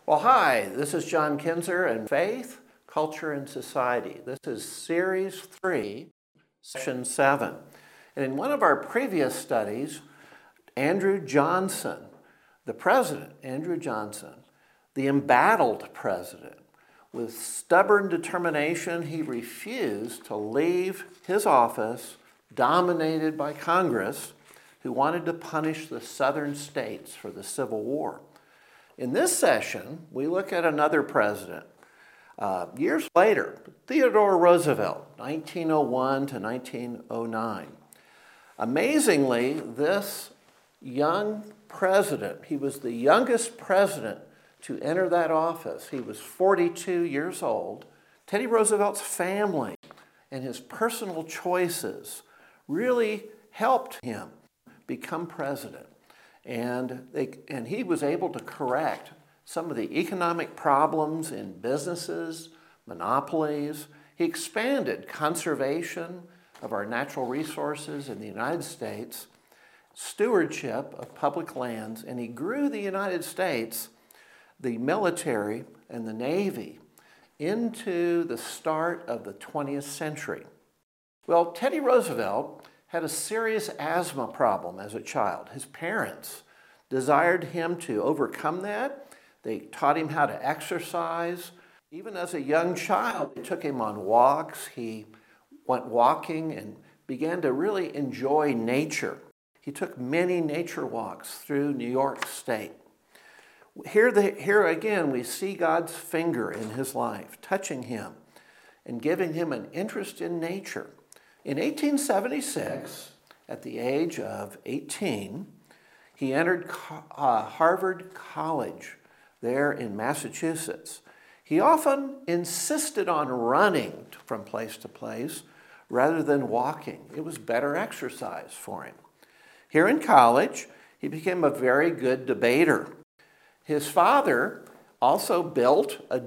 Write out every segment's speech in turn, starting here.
Well, hi, this is John Kinzer and Faith, Culture, and Society. This is Series 3, Session 7. And in one of our previous studies, Andrew Johnson, the president, Andrew Johnson, the embattled president, with stubborn determination, he refused to leave his office dominated by Congress, who wanted to punish the southern states for the Civil War. In this session, we look at another president. Years later, Theodore Roosevelt, 1901 to 1909. Amazingly, this young president, he was the youngest president to enter that office. He was 42 years old. Teddy Roosevelt's family and his personal choices really helped him become president. And he was able to correct some of the economic problems in businesses, monopolies. He expanded conservation of our natural resources in the United States, stewardship of public lands, and he grew the United States, the military and the Navy, into the start of the 20th century. Well, Teddy Roosevelt had a serious asthma problem as a child. His parents desired him to overcome that. They taught him how to exercise. Even as a young child, they took him on walks. He went walking and began to really enjoy nature. He took many nature walks through New York State. Here again, we see God's finger in his life, touching him and giving him an interest in nature. In 1876, at the age of 18, he entered Harvard College there in Massachusetts. He often insisted on running from place to place rather than walking. It was better exercise for him. Here in college, he became a very good debater. His father also built a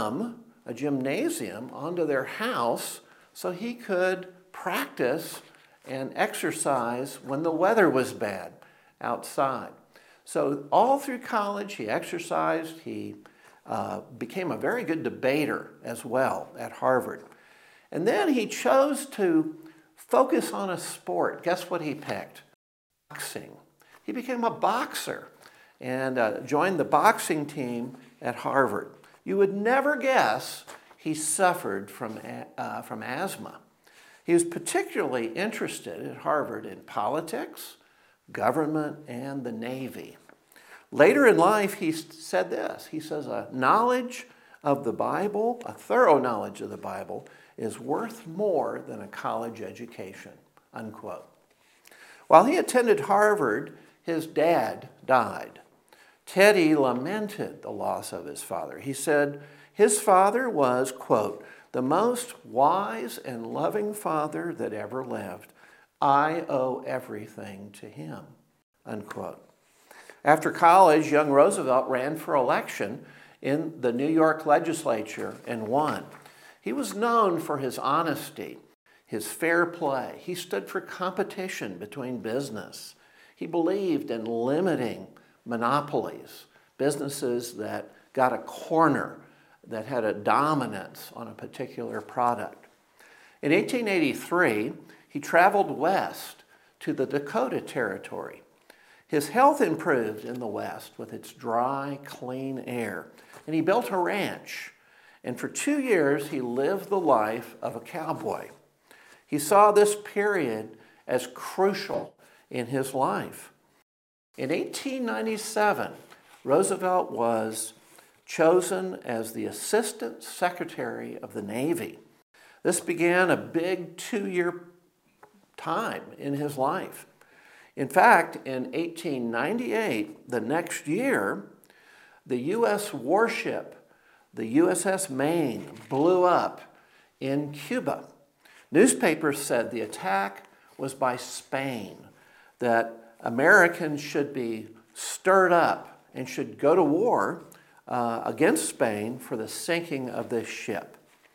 gymnasium onto their house so he could practice and exercise when the weather was bad outside. So all through college, he exercised. He became a very good debater as well at Harvard. And then he chose to focus on a sport. Guess what he picked? Boxing. He became a boxer and joined the boxing team at Harvard. You would never guess he suffered from asthma. He was particularly interested at Harvard in politics, government, and the Navy. Later in life, he said this. He says, a knowledge of the Bible, a thorough knowledge of the Bible, is worth more than a college education, unquote. While he attended Harvard, his dad died. Teddy lamented the loss of his father. He said his father was, quote, the most wise and loving father that ever lived. I owe everything to him, unquote. After college, young Roosevelt ran for election in the New York legislature and won. He was known for his honesty, his fair play. He stood for competition between business. He believed in limiting monopolies, businesses that got a corner, that had a dominance on a particular product. In 1883, he traveled west to the Dakota Territory. His health improved in the West with its dry, clean air, and he built a ranch. And for 2 years, he lived the life of a cowboy. He saw this period as crucial in his life. In 1897, Roosevelt was chosen as the Assistant Secretary of the Navy. This began a big 2-year time in his life. In fact, in 1898, the next year, the U.S. warship, the USS Maine, blew up in Cuba. Newspapers said the attack was by Spain, that Americans should be stirred up and should go to war against Spain for the sinking of this ship.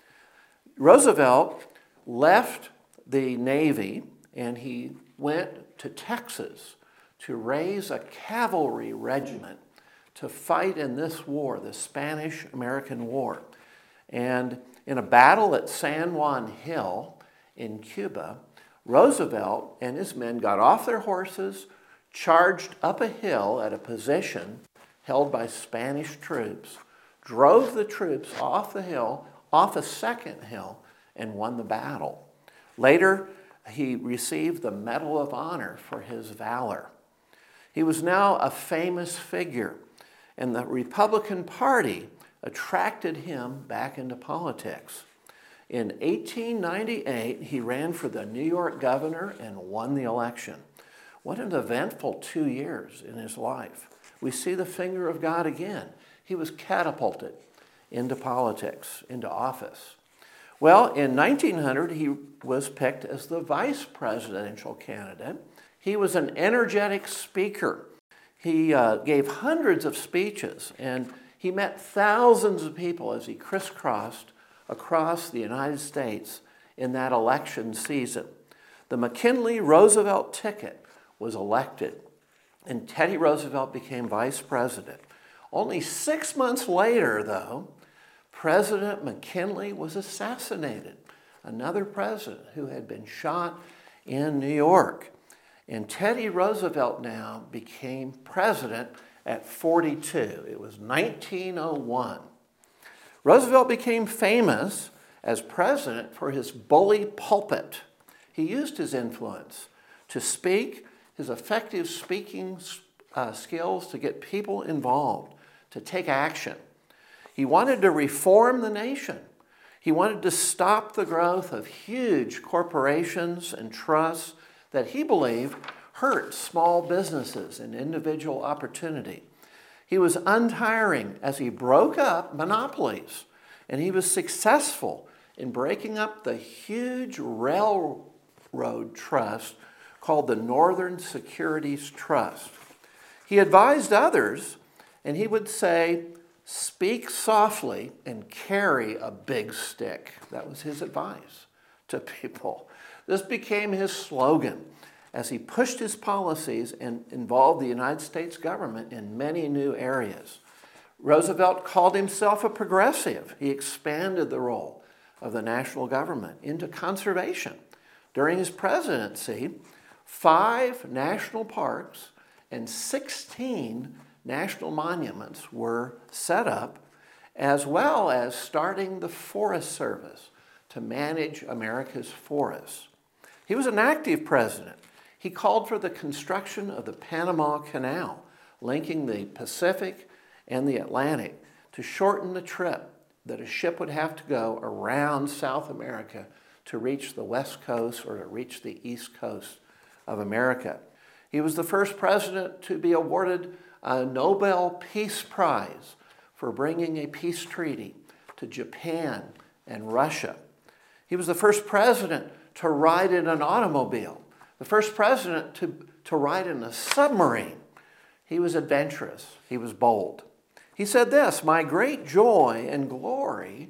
Roosevelt left the Navy and he went to Texas to raise a cavalry regiment to fight in this war, the Spanish-American War. And in a battle at San Juan Hill in Cuba, Roosevelt and his men got off their horses, charged up a hill at a position held by Spanish troops, drove the troops off the hill, off a second hill, and won the battle. Later, he received the Medal of Honor for his valor. He was now a famous figure, and the Republican Party attracted him back into politics. In 1898, he ran for the New York governor and won the election. What an eventful 2 years in his life. We see the finger of God again. He was catapulted into politics, into office. Well, in 1900, he was picked as the vice presidential candidate. He was an energetic speaker. He gave hundreds of speeches, and he met thousands of people as he crisscrossed across the United States in that election season. The McKinley-Roosevelt ticket was elected, and Teddy Roosevelt became vice president. Only 6 months later, though, President McKinley was assassinated, another president who had been shot in New York. And Teddy Roosevelt now became president at 42. It was 1901. Roosevelt became famous as president for his bully pulpit. He used his influence to speak, his effective speaking skills to get people involved, to take action. He wanted to reform the nation. He wanted to stop the growth of huge corporations and trusts that he believed hurt small businesses and individual opportunity. He was untiring as he broke up monopolies, and he was successful in breaking up the huge railroad trust called the Northern Securities Trust. He advised others, and he would say, "Speak softly and carry a big stick." That was his advice to people. This became his slogan as he pushed his policies and involved the United States government in many new areas. Roosevelt called himself a progressive. He expanded the role of the national government into conservation. During his presidency, 5 national parks and 16 national monuments were set up, as well as starting the Forest Service to manage America's forests. He was an active president. He called for the construction of the Panama Canal, linking the Pacific and the Atlantic, to shorten the trip that a ship would have to go around South America to reach the West Coast or to reach the East Coast of America. He was the first president to be awarded a Nobel Peace Prize for bringing a peace treaty to Japan and Russia. He was the first president to ride in an automobile, the first president to ride in a submarine. He was adventurous. He was bold. He said this, "My great joy and glory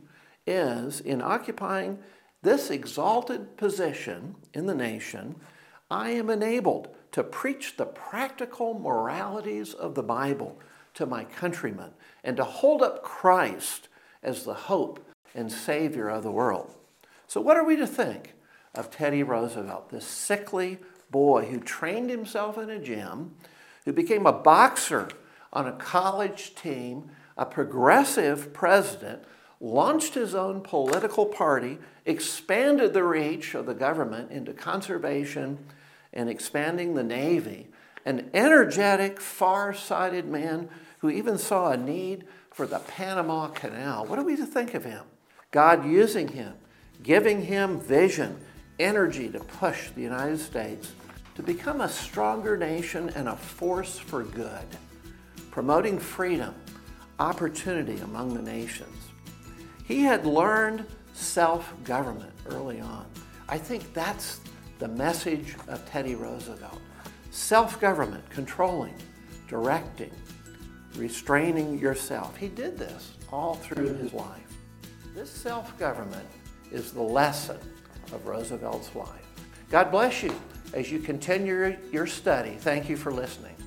is in occupying this exalted position in the nation. I am enabled to preach the practical moralities of the Bible to my countrymen and to hold up Christ as the hope and Savior of the world." So what are we to think of Teddy Roosevelt, this sickly boy who trained himself in a gym, who became a boxer on a college team, a progressive president, launched his own political party, expanded the reach of the government into conservation and expanding the Navy, an energetic, far-sighted man who even saw a need for the Panama Canal? What are we to think of him? God using him, giving him vision, energy to push the United States to become a stronger nation and a force for good, promoting freedom, opportunity among the nations. He had learned self-government early on. I think that's the message of Teddy Roosevelt. Self-government, controlling, directing, restraining yourself. He did this all through his life. This self-government is the lesson of Roosevelt's life. God bless you as you continue your study. Thank you for listening.